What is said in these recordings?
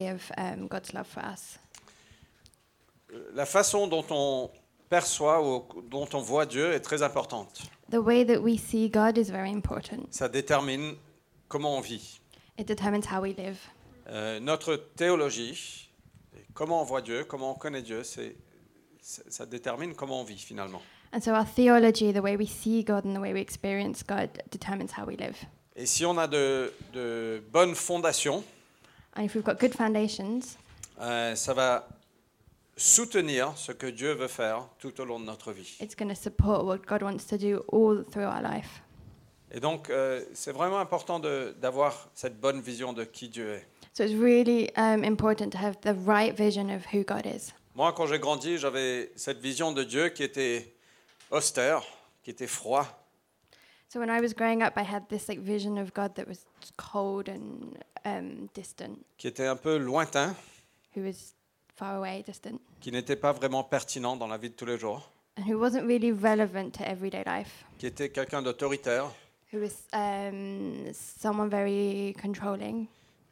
of God's love for us. La façon dont on perçoit ou dont on voit Dieu est très importante. The way that we see God is very important. Ça détermine comment on vit. It determines how we live. Notre théologie, comment on voit Dieu, comment on connaît Dieu, ça détermine comment on vit finalement. And so our theology, the way we see God and the way we experience God, determines how we live. Et si on a de bonnes fondations, And if we've got good foundations, ça va soutenir ce que Dieu veut faire tout au long de notre vie. it's going to support what God wants to do all through our life. Et donc, c'est vraiment important d'avoir cette bonne vision de qui Dieu est. So it's really important to have the right vision of who God is. Moi, quand j'ai grandi, j'avais cette vision de Dieu qui était austère, qui était froid, So when I was growing up, I had this vision of God that was cold and distant, qui était un peu lointain, who was far away, distant, qui n'était pas vraiment pertinent dans la vie de tous les jours, and who wasn't really relevant to everyday life, qui était quelqu'un d'autoritaire. who was someone very controlling.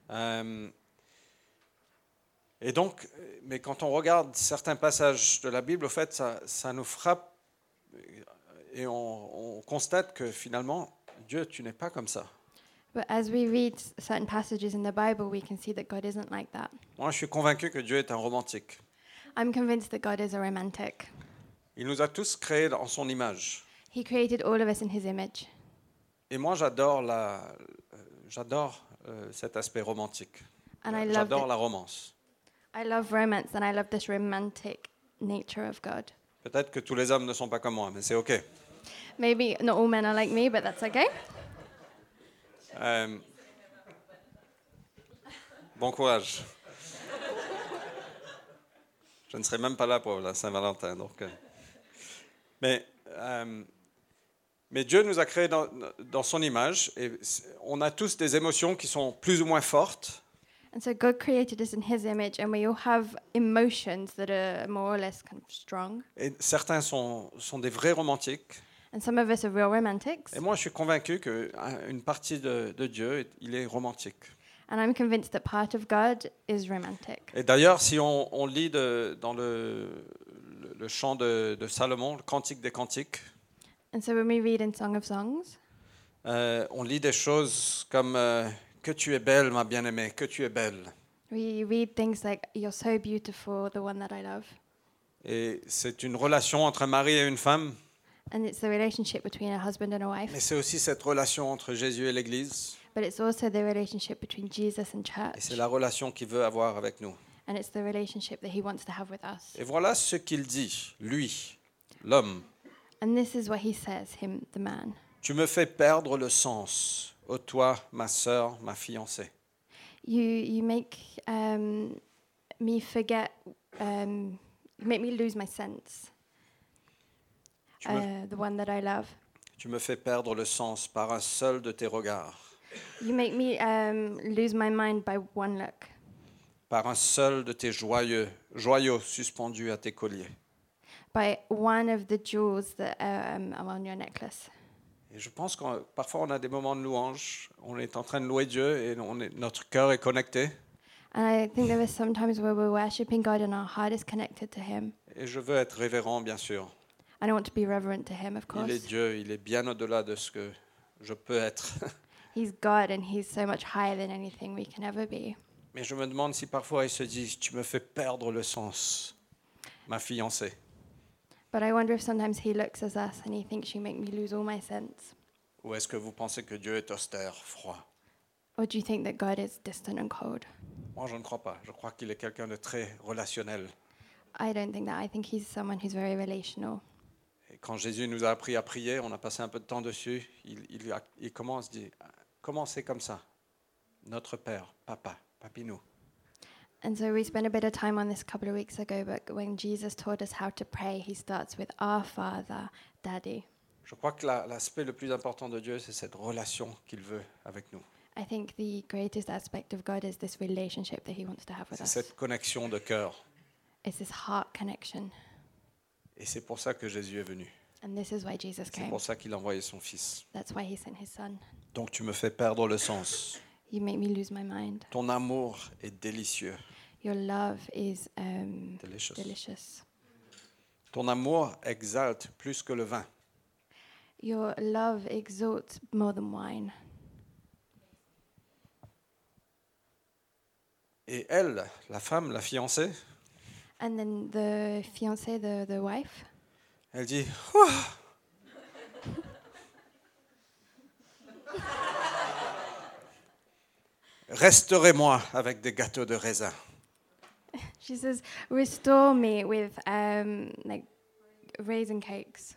Et donc, mais quand on regarde certains passages de la Bible, au fait, ça nous frappe et on constate que finalement, Dieu, tu n'es pas comme ça. But as we read certain passages in the Bible, we can see that God isn't like that. Moi, je suis convaincu que Dieu est un romantique. I'm convinced that God is a romantic. Il nous a tous créés en son image. He created all of us in his image. Et moi, j'adore cet aspect romantique. And I love J'adore it. la romance. I love romance and I love this romantic nature of God. Peut-être que tous les hommes ne sont pas comme moi, mais c'est OK. Maybe not all men are like me, but that's okay. Bon courage. Je ne serai même pas là pour la Saint-Valentin. Donc, mais Dieu nous a créés dans son image et on a tous des émotions qui sont plus ou moins fortes. And so God created us in his image, and we all have emotions that are more or less kind of strong. Et certains sont des vrais romantiques. And some of us are real romantics. Et moi, je suis convaincu qu'une partie de Dieu, il est romantique. And I'm convinced that part of God is romantic. Et d'ailleurs, si on lit dans le chant de Salomon, le Cantique des Cantiques, And so when we read in Song of Songs, on lit des choses comme que tu es belle, ma bien-aimée, que tu es belle. we read things like, "You're so beautiful, the one that I love." Et c'est une relation entre un mari et une femme, And it's the relationship between a husband and a wife. mais c'est aussi cette relation entre Jésus et l'Église. But it's also the relationship between Jesus and Et church. c'est la relation qu'il veut avoir avec nous. And it's the relationship that he wants to have with us. Et voilà ce qu'il dit, lui, l'homme. And this is what he says, him, the man. Tu me fais perdre le sens, ô toi, ma sœur, ma fiancée. You make me forget, you make me lose my sense, the one that I love. Tu me fais perdre le sens par un seul de tes regards, You make me lose my mind by one look, par un seul de tes joyaux suspendus à tes colliers. by one of the jewels that are on your necklace. Et je pense que parfois on a des moments de louange, on est en train de louer Dieu et notre cœur est connecté. And I think there are some times where we're worshiping God and our heart is connected to him. Et je veux être révérend, bien sûr. And I want to be reverent to him, of Il est course. Dieu, il est bien au-delà de ce que je peux être. He's God and he's so much higher than anything we can ever be. Mais je me demande si parfois il se dit, tu me fais perdre le sens, ma fiancée. But I wonder if sometimes he looks at us and he thinks you make me lose all my sense. Ou est-ce que vous pensez que Dieu est austère, froid? Or do you think that God is distant and cold? Moi, je ne crois pas. Je crois qu'il est quelqu'un de très relationnel. I don't think that. I think he's someone who's very relational. Et quand Jésus nous a appris à prier, on a passé un peu de temps dessus, il commence, dit, commencez comme ça. Notre Père, Papa, Papinou. And so we spent a bit of time on this a couple of weeks ago, but when Jesus taught us how to pray, he starts with our Father, Daddy. Je crois que l'aspect le plus important de Dieu, c'est cette relation qu'il veut avec nous. I think the greatest aspect of God is this relationship that he wants to have with C'est us. cette connexion de cœur. It's this heart connection. Et c'est pour ça que Jésus est venu. And this is why Jesus C'est came. pour ça qu'il a envoyé son Fils. That's why he sent his son. Donc tu me fais perdre le sens. You make me lose my mind. Ton amour est délicieux. Your love is Delicious. delicious. Ton amour exalte plus que le vin. Your love exalts more than wine. Et elle, la femme, la fiancée, And then the fiancée, the wife, elle dit Ouah. Restaurez-moi avec des gâteaux de raisin. she says, "Restore me with like raisin cakes.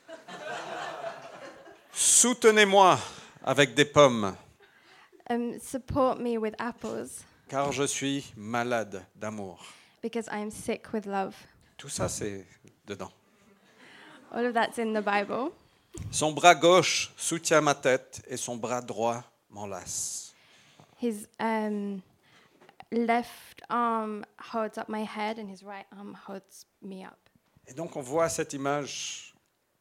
Soutenez-moi avec des pommes, Support me with apples, car je suis malade d'amour. because I am sick with love." Tout ça, c'est dedans. All of that's in the Bible. Son bras gauche soutient ma tête et son bras droit m'enlace. His left arm holds up my head, and his right arm holds me up. Et donc on voit cette image.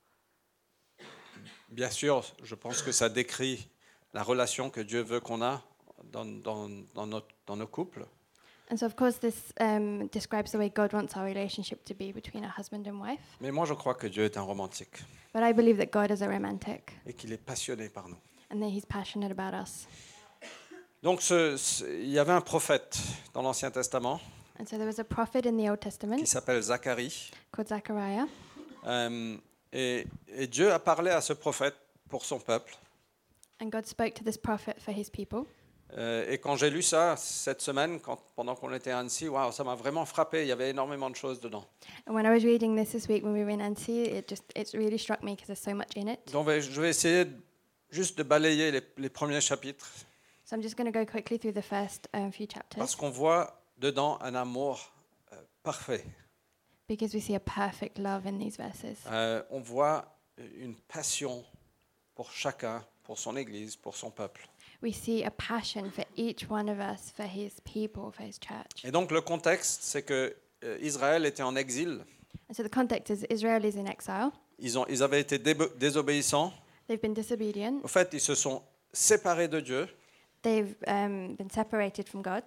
Bien sûr, je pense que ça décrit la relation que Dieu veut qu'on a dans nos couples. And so, of course, this describes the way God wants our relationship to be between a husband and wife. Mais moi, je crois que Dieu est un romantique But I believe that God is a romantic, et qu'il est passionné par nous. and that He's passionate about us. Donc il y avait un prophète dans l'Ancien Testament And so there was a prophet in the Old qui Testament s'appelle Zacharie. called Zechariah, Et Dieu a parlé à ce prophète pour son peuple. and God spoke to this prophet for His people. Et quand j'ai lu ça cette semaine, pendant qu'on était à Annecy, waouh, ça m'a vraiment frappé. Il y avait énormément de choses dedans. And when I was reading this week when we were in Annecy, it really struck me because there's so much in it. Donc je vais essayer juste de balayer les premiers chapitres So I'm just going to go quickly through the first few chapters, parce qu'on voit dedans un amour parfait. because we see a perfect love in these verses. On voit une passion pour chacun, pour son Église, pour son peuple. We see a passion for each one of us, for His people, for His church. Et donc le contexte, c'est que Israël était en exil. And so the context is Israel is in exile. Ils avaient été désobéissants. They've been disobedient. Au fait, ils se sont séparés de Dieu. They've been separated from God.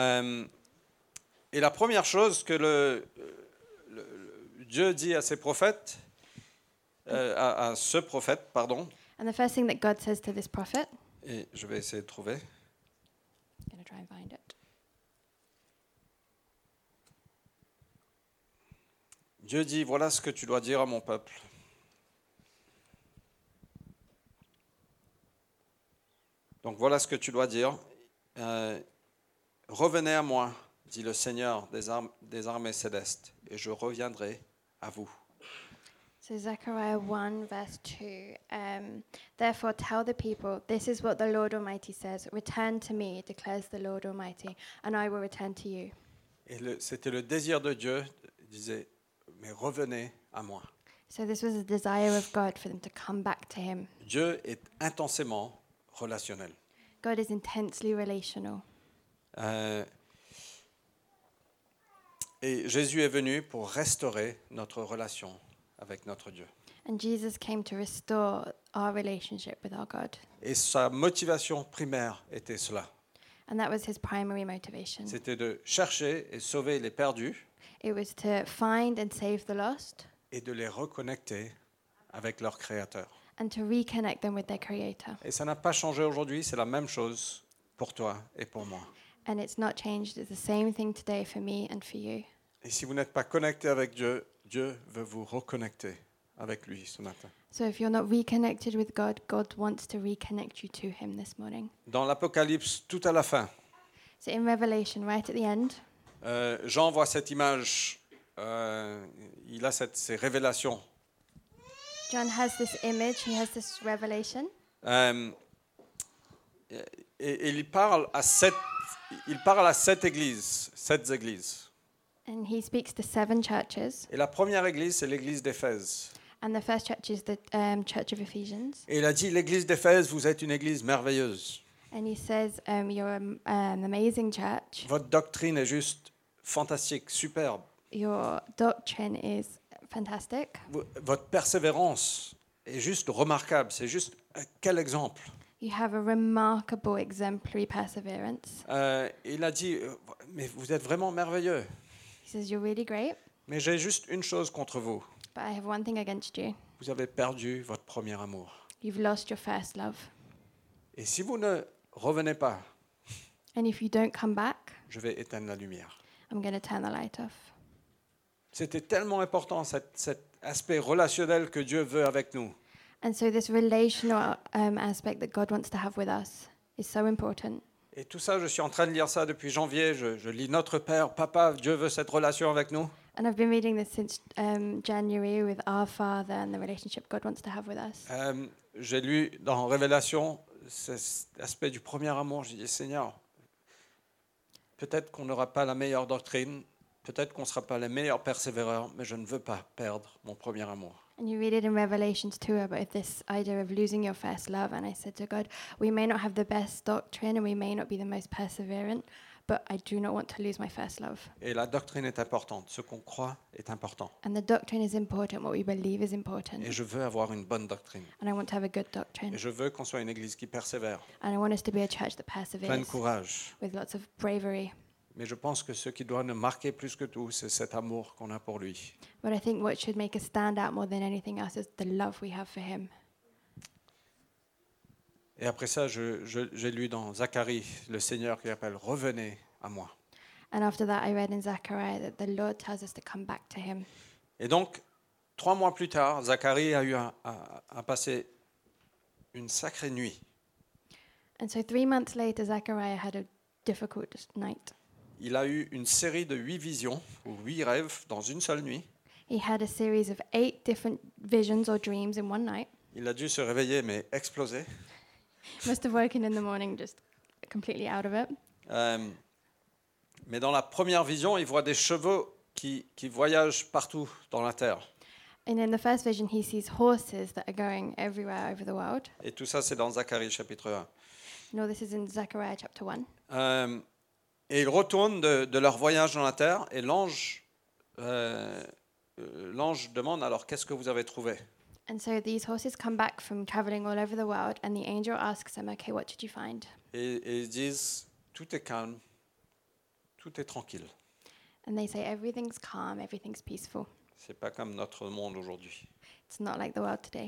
Et la première chose que Dieu dit à ses prophètes, à ce prophète, pardon, And the first thing that God says to this prophet, et je vais essayer de trouver, I'm going to try and find it. Dieu dit, voilà ce que tu dois dire à mon peuple. Donc voilà ce que tu dois dire. Revenez à moi, dit le Seigneur des armées célestes, et je reviendrai à vous. So Zechariah 1 verse 2, therefore tell the people, this is what the Lord Almighty says, return to me, declares the Lord Almighty, and I will return to you. Et c'était le désir de Dieu, il disait, mais revenez à moi. So this was a desire of God for them to come back to Him. Dieu est intensément relationnel. God is intensely relational. Et Jésus est venu pour restaurer notre relation avec notre Dieu. And Jesus came to restore our relationship with our God. Et sa motivation primaire était cela. And that was His primary motivation. C'était de chercher et sauver les perdus It was to find and save the lost et de les reconnecter avec leur Créateur. and to reconnect them with their Creator. Et ça n'a pas changé aujourd'hui, c'est la même chose pour toi et pour moi. And it's not changed. It's the same thing today for me and for you. Et si vous n'êtes pas connecté avec Dieu, Dieu veut vous reconnecter avec lui ce matin. So if you're not reconnected with God, God wants to reconnect you to Him this morning. Dans l'Apocalypse, tout à la fin, So in Revelation, right at the end, Jean voit cette image, il a ces révélations. John has this image, he has this revelation, Et il parle à sept églises. and he speaks to 7 churches. Et la première église, c'est l'église d'Éphèse. And the first church is the Church of Ephesians. Et il a dit, l'église d'Éphèse, vous êtes une église merveilleuse. And he says, you're an amazing church. Votre doctrine est juste fantastique, superbe. Your doctrine is fantastic. Votre persévérance est juste remarquable. C'est juste quel exemple. You have a remarkable, exemplary perseverance. Il a dit, mais vous êtes vraiment merveilleux, He says, you're really great, mais j'ai juste une chose contre vous. but I have one thing against you. Vous avez perdu votre premier amour. You've lost your first love. Et si vous ne revenez pas, And if you don't come back, je vais éteindre la lumière. I'm going to turn the light off. C'était tellement important, cet aspect relationnel que Dieu veut avec nous. And so this relational aspect that God wants to have with us is so important. Et tout ça, je suis en train de lire ça depuis janvier. Je lis Notre Père, Papa, Dieu veut cette relation avec nous. And I've been reading this since January with Our Father and the relationship God wants to have with us. J'ai lu dans Révélation cet aspect du premier amour. J'ai dit, Seigneur, peut-être qu'on n'aura pas la meilleure doctrine, peut-être qu'on ne sera pas les meilleurs persévéreurs, mais je ne veux pas perdre mon premier amour. And you read it in Revelations too about this idea of losing your first love. And I said to God, we may not have the best doctrine and we may not be the most perseverant, but I do not want to lose my first love. Et la doctrine est importante. Ce qu'on croit est important. And the doctrine is important. What we believe is important. Et je veux avoir une bonne doctrine. And I want to have a good Et doctrine. je veux qu'on soit une église qui persévère, And I want us to be a church that plein de perseveres courage. with lots of bravery. Mais je pense que ce qui doit nous marquer plus que tout, c'est cet amour qu'on a pour lui. But I think what should make us stand out more than anything else is the love we have for him. Et après ça, j'ai lu dans Zacharie, le Seigneur qui appelle « Revenez à moi ». And after that, I read in Zechariah that the Lord tells us to come back to him. Et donc, 3 mois plus tard, Zacharie a eu à passer une sacrée nuit. And so 3 months later, Zechariah had a difficult night. Il a eu une série de 8 visions, ou 8 rêves, dans une seule nuit. He had a series of 8 different visions or dreams in one night. Il a dû se réveiller, mais exploser. Must have woken in the morning just completely out of it. Mais dans la première vision, il voit des chevaux qui voyagent partout dans la terre. And in the first vision, he sees horses that are going everywhere over the world. Et tout ça, c'est dans Zacharie chapitre 1. You know, this is in Zechariah chapter 1. Et ils retournent de leur voyage dans la terre, et l'ange demande, alors qu'est-ce que vous avez trouvé? And so these horses come back from traveling all over the world, and the angel asks them, okay, what did you find? Et ils disent, tout est calme, tout est tranquille. And they say, everything's calm, everything's peaceful. C'est pas comme notre monde aujourd'hui. It's not like the world today.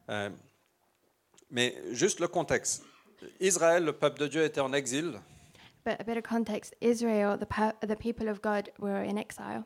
Mais juste le contexte. Israël, le peuple de Dieu, était en exil. But a bit of context, Israel, the people of God, were in exile.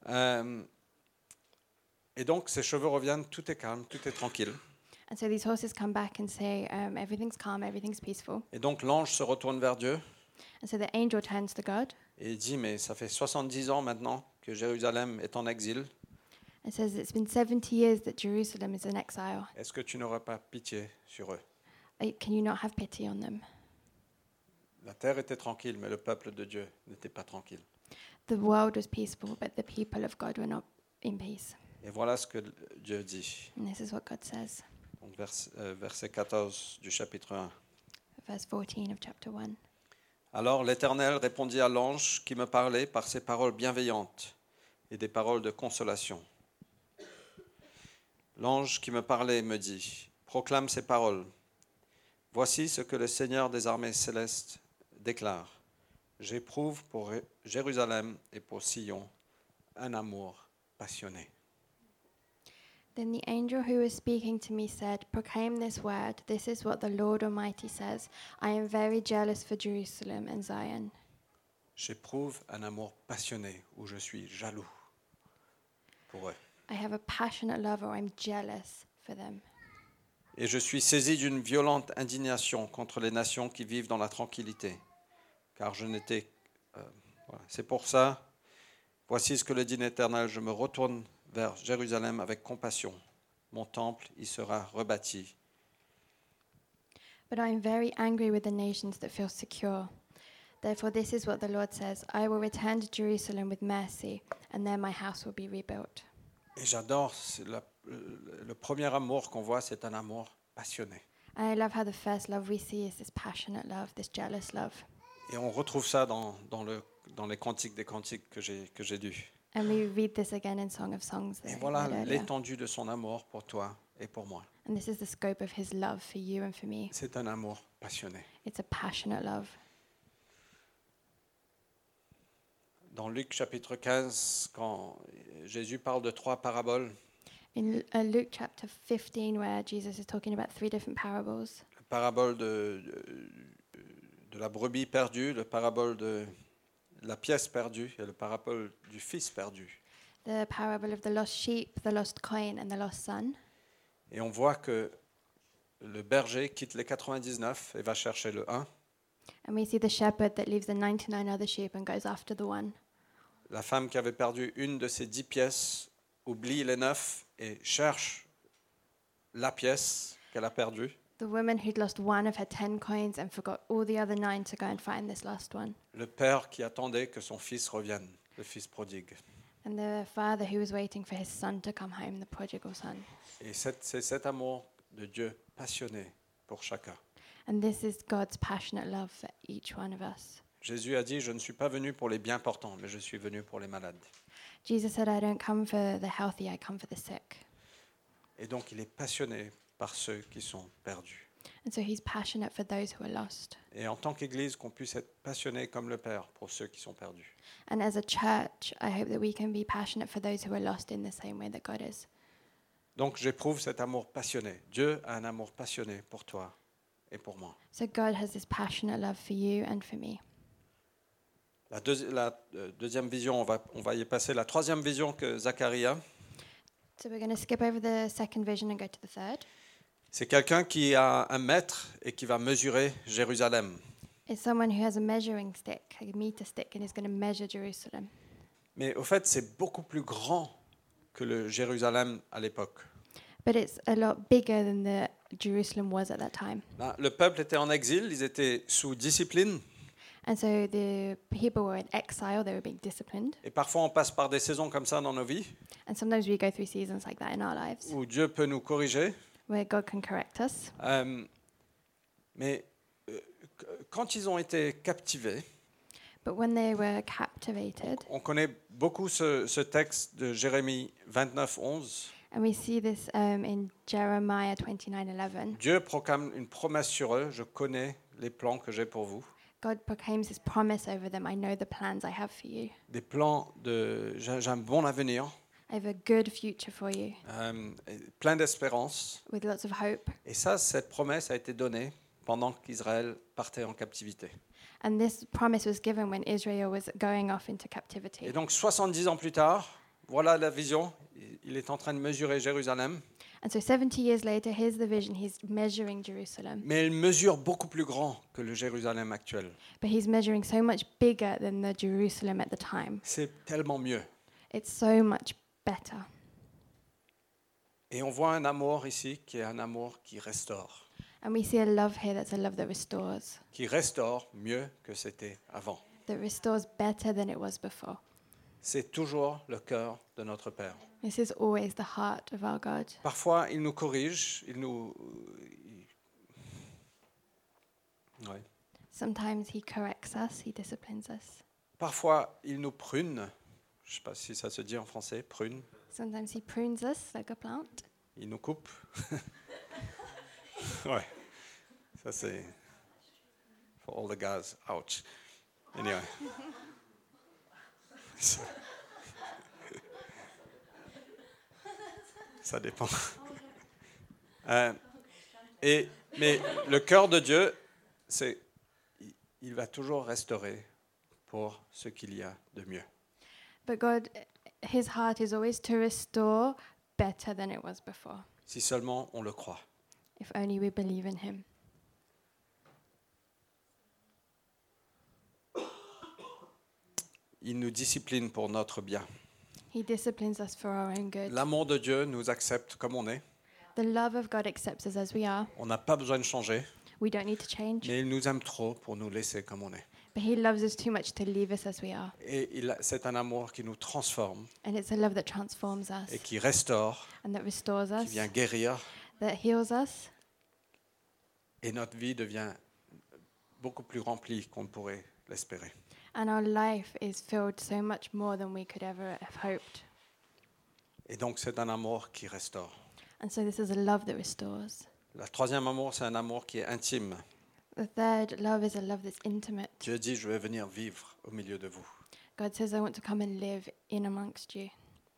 Et donc, ces chevaux reviennent, tout est calme, tout est tranquille. And so these horses come back and say, everything's calm, everything's peaceful. Et donc, l'ange se retourne vers Dieu And so the angel turns to God et il dit, mais ça fait 70 ans maintenant que Jérusalem est en exil. and says, it's been 70 years that Jerusalem is in exile. Est-ce que tu n'auras pas pitié sur eux? Can you not have pity on them? La terre était tranquille, mais le peuple de Dieu n'était pas tranquille. The world was peaceful, but the people of God were not in peace. Et voilà ce que Dieu dit. And this is what God says, Donc, verset 14 du chapitre 1. verse 14 of chapter 1. Alors l'Éternel répondit à l'ange qui me parlait par ses paroles bienveillantes et des paroles de consolation. L'ange qui me parlait me dit, proclame ces paroles. Voici ce que le Seigneur des armées célestes déclare. J'éprouve pour Jérusalem et pour Sion un amour passionné. Then the angel who was speaking to me said, proclaim this word. This is what the Lord Almighty says. I am very jealous for Jerusalem and Zion. J'éprouve un amour passionné où je suis jaloux pour eux. I have a passionate love, or I'm jealous for them. Et je suis saisi d'une violente indignation contre les nations qui vivent dans la tranquillité, car je n'étais... voilà. C'est pour ça, voici ce que le dit l'Éternel, je me retourne vers Jérusalem avec compassion. Mon temple y sera rebâti. But I am very angry with the nations that feel secure. Therefore, this is what the Lord says. I will return to Jerusalem with mercy, and there my house will be rebuilt. Et j'adore, le premier amour qu'on voit, c'est un amour passionné. And I love how the first love we see is this passionate love, this jealous love. Et on retrouve ça dans les cantiques des cantiques que j'ai lus. And we read this again in Song of Songs. Et that I voilà read earlier. l'étendue de son amour pour toi et pour moi. And this is the scope of his love for you and for me. C'est un amour passionné. It's a passionate love. Dans Luc chapitre 15, quand Jésus parle de 3 paraboles, In Luke chapter 15, where Jesus is talking about 3 different parables, la parabole de la brebis perdue, la parabole de la pièce perdue et la parabole du fils perdu. the parable of the lost sheep, the lost coin, and the lost son. Et on voit que le berger quitte les 99 et va chercher le 1. And we see the shepherd that leaves the 99 other sheep and goes after the one. La femme qui avait perdu une de ses 10 pièces oublie les 9 et cherche la pièce qu'elle a perdue. The woman who'd lost one of her 10 coins and forgot all the other 9 to go and find this last one. Le père qui attendait que son fils revienne, le fils prodigue. And the father who was waiting for his son to come home, the prodigal son. Et c'est cet amour de Dieu passionné pour chacun. And this is God's passionate love for each one of us. Jésus a dit, je ne suis pas venu pour les bien portants, mais je suis venu pour les malades. Jesus said, I don't come for the healthy, I come for the sick. Et donc il est passionné par ceux qui sont perdus. And so he's passionate for those who are lost. Et en tant qu'Église, qu'on puisse être passionné comme le Père pour ceux qui sont perdus. And as a church, I hope that we can be passionate for those who are lost in the same way that God is. Donc j'éprouve cet amour passionné. Dieu a un amour passionné pour toi et pour moi. So God has this passionate love for you and for me. La deuxième vision, on va y passer. La troisième vision que Zacharie a, So we're going to skip over the second vision and go to the third. c'est quelqu'un qui a un mètre et qui va mesurer Jérusalem. It's someone who has a measuring stick, a meter stick, and is going to measure Jerusalem. Mais au fait, c'est beaucoup plus grand que le Jérusalem à l'époque. But it's a lot bigger than the Jerusalem was at that time. Là, le peuple était en exil, ils étaient sous discipline. And so the people were in exile, they were being disciplined. Et parfois, on passe par des saisons comme ça dans nos vies, And sometimes we go through seasons like that in our lives, où Dieu peut nous corriger. where God can correct us. Mais quand ils ont été captivés, But when they were captivated, on connaît beaucoup ce texte de Jérémie 29, 11. and we see this in Jeremiah 29:11, Dieu proclame une promesse sur eux. Je connais les plans que j'ai pour vous. God proclaims his promise over them. I know the plans I have for you. Des plans j'ai un bon avenir, I have a good future for you, plein d'espérance. with lots of hope. Et ça, cette promesse a été donnée pendant qu'Israël partait en captivité. And this promise was given when Israel was going off into captivity. Et donc 70 ans plus tard, voilà la vision. Il est en train de mesurer Jérusalem, And so 70 years later, here's the vision. He's measuring Jerusalem. mais il mesure beaucoup plus grand que le Jérusalem actuel. But he's measuring so much bigger than the Jerusalem at the time. C'est tellement mieux. It's so much better. Et on voit un amour ici qui est un amour qui restaure. And we see a love here that's a love that restores. Qui restaure mieux que c'était avant. That restores better than it was before. C'est toujours le cœur de notre Père. This is always the heart of our God. Parfois, il nous corrige, Ouais. Sometimes he corrects us, he disciplines us. Parfois, il nous prune. Je ne sais pas si ça se dit en français, prune. Sometimes he prunes us like a plant. Il nous coupe. Ouais. Ça, c'est... For all the guys, ouch. Anyway. Ça dépend. Mais le cœur de Dieu, il va toujours restaurer pour ce qu'il y a de mieux. But God, his heart is always to restore better than it was before, Si seulement on le croit. if only we believe in him. Il nous discipline pour notre bien. He disciplines us for our own good. L'amour de Dieu nous accepte comme on est. The love of God accepts us as we are. On n'a pas besoin de changer, We don't need to change. mais il nous aime trop pour nous laisser comme on est. But he loves us too much to leave us as we are. Et c'est un amour qui nous transforme And it's a love that transforms us et qui restaure, and that restores qui us, vient guérir. that heals us. Et notre vie devient beaucoup plus remplie qu'on ne pourrait l'espérer. And our life is filled so much more than we could ever have hoped. Et donc c'est un amour qui restaure. And so this is a love that restores. Le troisième amour, c'est un amour qui est intime. The third love is a love that's intimate. Dieu dit, je vais venir vivre au milieu de vous. God says, I want to come and live in amongst you.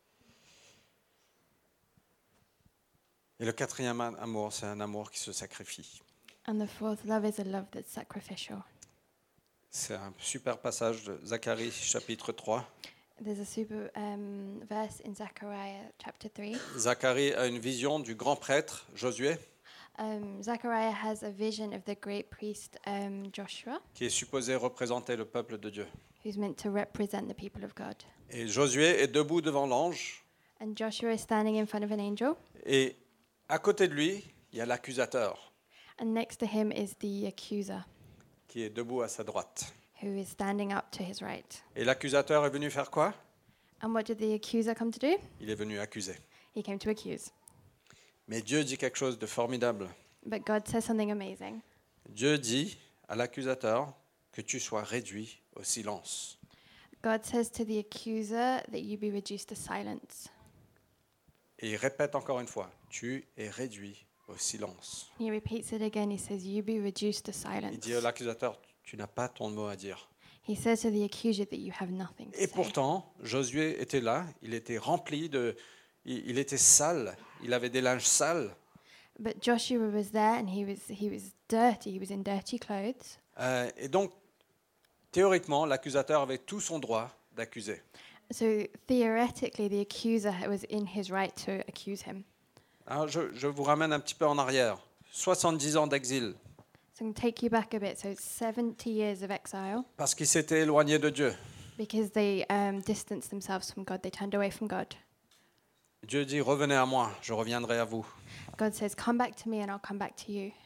Et le quatrième amour, c'est un amour qui se sacrifie. And the fourth love is a love that's sacrificial. C'est un super passage de Zacharie, chapitre 3. There's a super verse in Zechariah chapter 3. Zacharie a une vision du grand prêtre Josué, Zechariah has a vision of the great priest Joshua, qui est supposé représenter le peuple de Dieu. who's meant to represent the people of God. Et Josué est debout devant l'ange, And Joshua is standing in front of an angel, et à côté de lui, il y a l'accusateur and next to him is the accuser, qui est debout à sa droite. who is standing up to his right. Et l'accusateur est venu faire quoi? And what did the accuser come to do? Il est venu accuser. He came to accuse. Mais Dieu dit quelque chose de formidable. But God says something amazing. Dieu dit à l'accusateur que tu sois réduit au silence. God says to the accuser that you be reduced to silence. Et il répète encore une fois, tu es réduit au silence. He repeats it again. He says, you be reduced to Il silence. dit à l'accusateur, tu n'as pas ton mot à dire. He says to the accuser that you have nothing to Et say. pourtant, Josué était là, il était rempli de... Il était sale, il avait des linges sales. But Joshua was there, and he was dirty. He was in dirty clothes. Et donc, théoriquement, l'accusateur avait tout son droit d'accuser. So theoretically, the accuser was in his right to accuse him. Alors, je vous ramène un petit peu en arrière. 70 ans d'exil, So I'm going to take you back a bit. So 70 years of exile parce qu'il s'était éloigné de Dieu. because they distanced themselves from God. They turned away from God. Dieu dit, revenez à moi, je reviendrai à vous. God says, come back to me and I'll come back to you.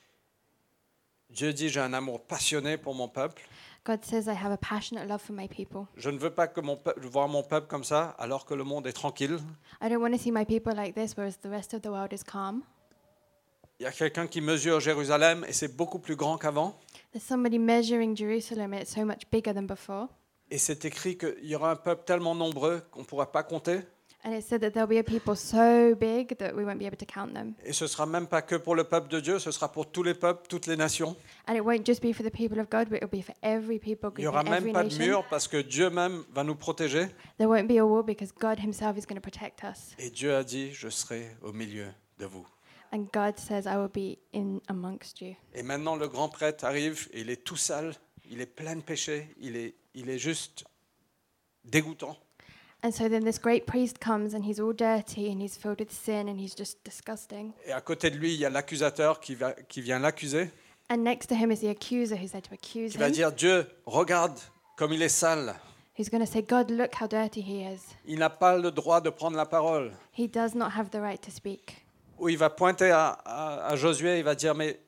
Dieu dit, j'ai un amour passionné pour mon peuple. God says, I have a passionate love for my people. Je ne veux pas que voir mon peuple comme ça, alors que le monde est tranquille. I don't want to see my people like this, whereas the rest of the world is calm. Il y a quelqu'un qui mesure Jérusalem et c'est beaucoup plus grand qu'avant. There's somebody measuring Jerusalem, and it's so much bigger than before. Et c'est écrit qu'il y aura un peuple tellement nombreux qu'on ne pourra pas compter. And it said that there'll be a people so big that we won't be able to count them. Et ce ne sera même pas que pour le peuple de Dieu, ce sera pour tous les peuples, toutes les nations. And it won't just be for the people of God, but it'll be for every people Il n'y group aura in même every pas de nation. mur parce que Dieu même va nous protéger. There won't be a war because God himself is going to protect us. Et Dieu a dit, je serai au milieu de vous. And God says, I will be in amongst you. Et maintenant, le grand prêtre arrive, et il est tout sale, il est plein de péché, il est juste dégoûtant. And so then this great priest comes and he's all dirty and he's filled with sin and he's just disgusting. Et à côté de lui, il y a l'accusateur qui vient l'accuser, And next to him is the accuser who's there to accuse qui va him. dire, Dieu, regarde comme il est sale. Who's going to say, God, look how dirty he is. Il n'a pas le droit de prendre la parole. He does not have the right to speak. Où il va pointer à Josué, il va dire, mais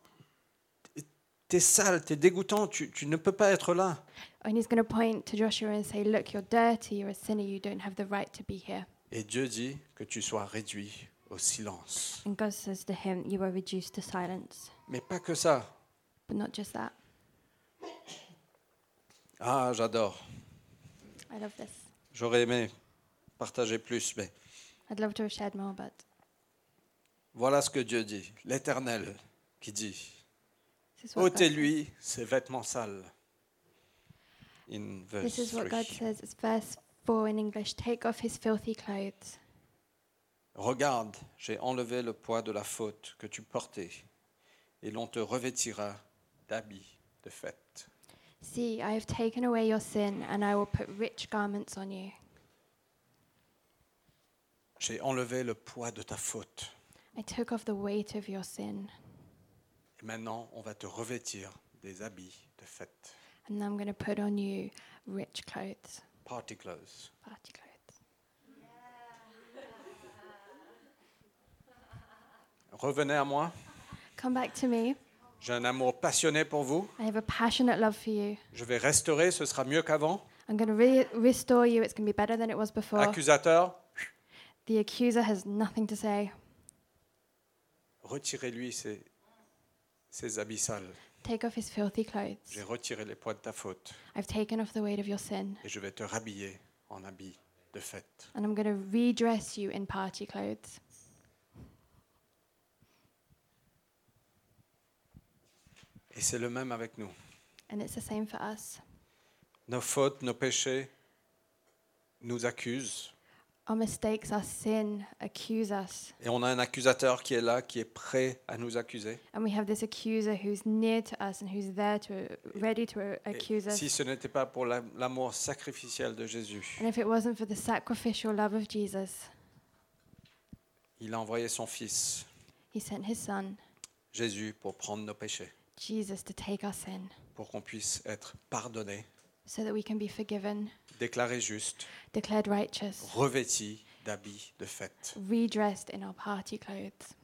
t'es sale, t'es dégoûtant, tu ne peux pas être là. And he's going to point to Joshua and say, look, you're dirty, you're a sinner, you don't have the right to be here. Et Dieu dit que tu sois réduit au silence. And God says to him, you are reduced to silence. Mais pas que ça. But not just that. Ah, j'adore. I love this. J'aurais aimé partager plus, mais I'd love to have shared more, but voilà ce que Dieu dit. L'Éternel qui dit, this is what God says. ôtez-lui ses vêtements sales. In verse This is what God 3. says. It's verse 4 in English. Take off his filthy clothes. Regarde, j'ai enlevé le poids de la faute que tu portais, et l'on te revêtira d'habits de fête. See, I have taken away your sin, and I will put rich garments on you. J'ai enlevé le poids de ta faute. I took off the weight of your sin, Et maintenant, on va te revêtir des habits de fête. and I'm going to put on you rich clothes, Party clothes. party clothes. Revenez à moi. Come back to me. J'ai un amour passionné pour vous. I have a passionate love for you. Je vais restaurer, ce sera mieux qu'avant. I'm going to restore you. It's going to be better than it was before. Accusateur, The accuser has nothing to say. retirez-lui ses habits sales. Take off his filthy clothes. J'ai retiré les poids de ta faute I've taken off the weight of your sin, et je vais te rhabiller en habits de fête. and I'm going to redress you in party clothes. Et c'est le même avec nous. And it's the same for us. Nos fautes, nos péchés nous accusent. Our mistakes, our sin accuse us. Et on a un accusateur qui est là, qui est prêt à nous accuser. And we have this accuser who's near to us and who's there ready to accuse Et si us. ce n'était pas pour l'amour sacrificiel de Jésus, And if it wasn't for the sacrificial love of Jesus, il a envoyé son Fils, he sent his son, Jésus, pour prendre nos péchés, Jesus, to take our sin pour qu'on puisse être pardonné, so that we can be forgiven, déclaré juste, declared righteous, revêti d'habits de fête. redressed in our party clothes.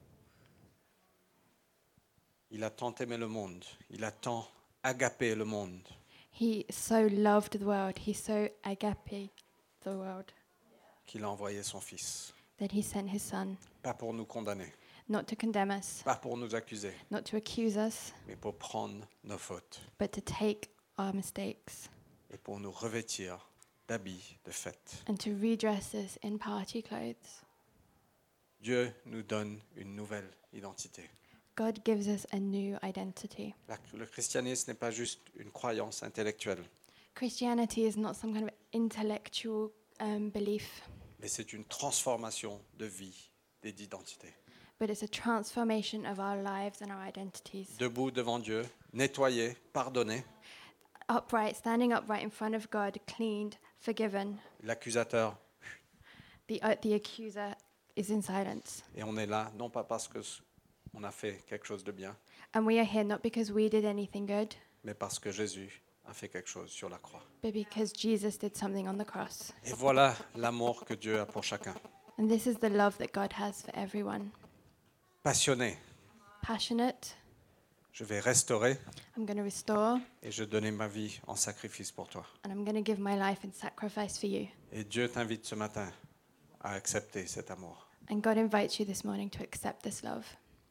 Il a tant aimé le monde, il a tant agapé le monde, He so loved the world, he so agape the world, qu'il a envoyé son Fils. that he sent his son, Pas pour nous condamner, not to condemn us, pas pour nous accuser, not to accuse us, mais pour prendre nos fautes but to take our mistakes et pour nous revêtir d'habits de fête. and to redress us in party clothes. Dieu nous donne une nouvelle identité. God gives us a new identity. Le christianisme n'est pas juste une croyance intellectuelle, Christianity is not some kind of intellectual belief, mais c'est une transformation de vie et d'identité. but it's a transformation of our lives and our identities. Debout devant Dieu, nettoyé, pardonné, Upright, standing upright in front of God, cleaned, forgiven. l'accusateur, The accuser is in silence. et on est là, non pas parce qu'on a fait quelque chose de bien, And we are here not because we did anything good, mais parce que Jésus a fait quelque chose sur la croix. but because Jesus did something on the cross. Et voilà l'amour que Dieu a pour chacun. And this is the love that God has for everyone. Passionné, Passionate, je vais restaurer I'm going to restore, et je donner ma vie en sacrifice pour toi. and I'm going to give my life in sacrifice for you. Et Dieu t'invite ce matin à accepter cet amour. And God invites you this morning to accept this love.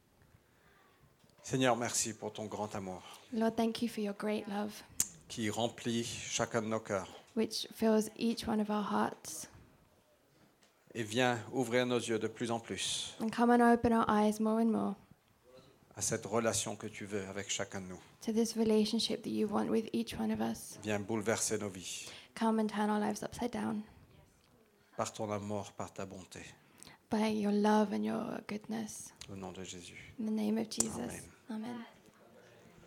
Seigneur, merci pour ton grand amour Lord, thank you for your great love, qui remplit chacun de nos cœurs. which fills each one of our hearts. Et viens ouvrir nos yeux de plus en plus And come and open our eyes more and more à cette relation que tu veux avec chacun de nous. to this relationship that you want with each one of us. Viens bouleverser nos vies Come and turn our lives upside down par ton amour, par ta bonté. by your love and your goodness. Au nom de Jésus. In the name of Jesus. Amen. Amen.